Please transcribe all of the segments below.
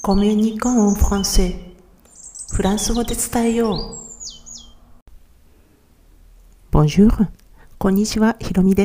コミュニコンフランセフランス語で伝えよう。Bonjour、こんにちは、ひろみです。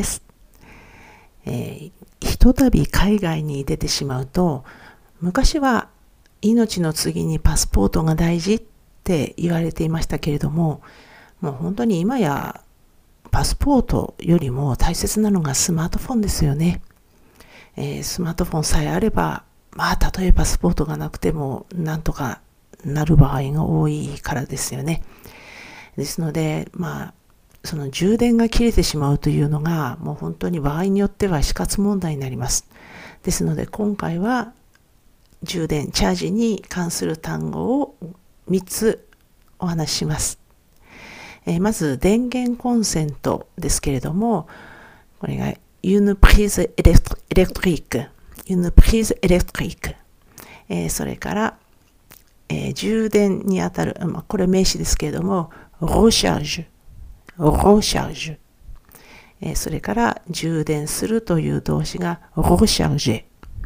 ひとたび海外に出てしまうと、昔は命の次にパスポートが大事って言われていましたけれども、もう本当に今やパスポートよりも大切なのがスマートフォンですよね。スマートフォンさえあれば、たとえパスポートがなくてもなんとかなる場合が多いからですよね。ですので、その充電が切れてしまうというのがもう本当に場合によっては死活問題になります。ですので今回は充電、チャージに関する単語を3つお話しします。まず電源コンセントですけれども、これがune prise électrique、une prise électrique、それから、充電にあたる、これ名詞ですけれども、recharge、それから充電するという動詞がrecharger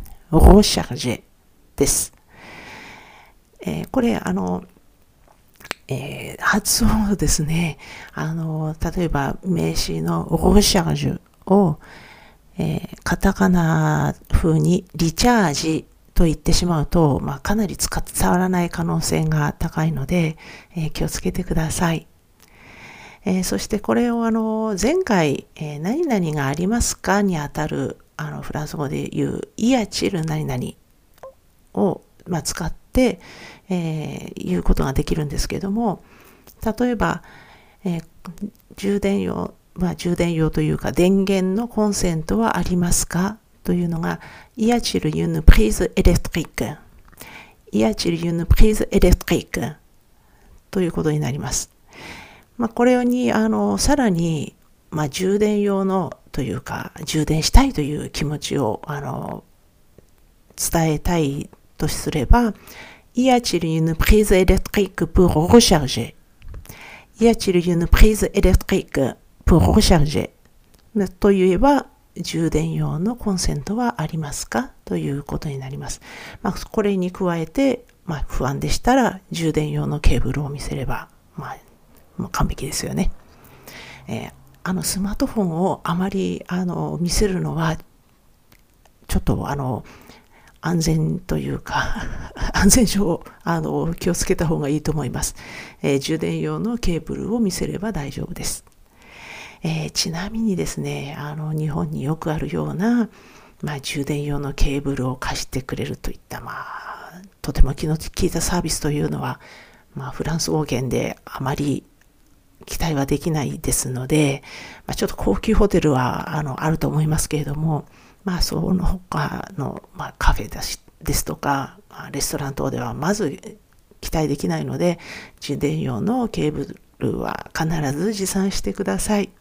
です。これ発音ですね。例えば名詞のrechargeを、カタカナ風にリチャージと言ってしまうと、かなり伝わらない可能性が高いので、気をつけてください。そしてこれを前回、何々がありますかにあたるフランス語で言うイヤチル何々を、使って、言うことができるんですけれども、例えば、充電用というか電源のコンセントはありますかというのがy a-t-il une prise électrique、 y a-t-il une prise électrique ということになります。これにさらに、充電用のというか充電したいという気持ちを伝えたいとすれば、y a-t-il une prise électrique pour recharger、 y a-t-il une prise électrique pour recharger と言えば、充電用のコンセントはありますかということになります。これに加えて、不安でしたら充電用のケーブルを見せれば、もう完璧ですよね。スマートフォンをあまり見せるのはちょっと安全というか安全上気をつけた方がいいと思います。充電用のケーブルを見せれば大丈夫です。ちなみにですね、日本によくあるような、充電用のケーブルを貸してくれるといった、とても気の利いたサービスというのは、フランス語圏であまり期待はできないですので、ちょっと高級ホテルはあると思いますけれども、その他の、カフェですとかレストラン等ではまず期待できないので、充電用のケーブルは必ず持参してください。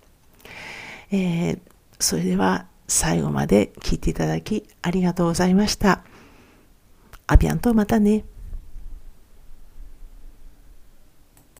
それでは最後まで聞いていただきありがとうございました。アビアント、またね。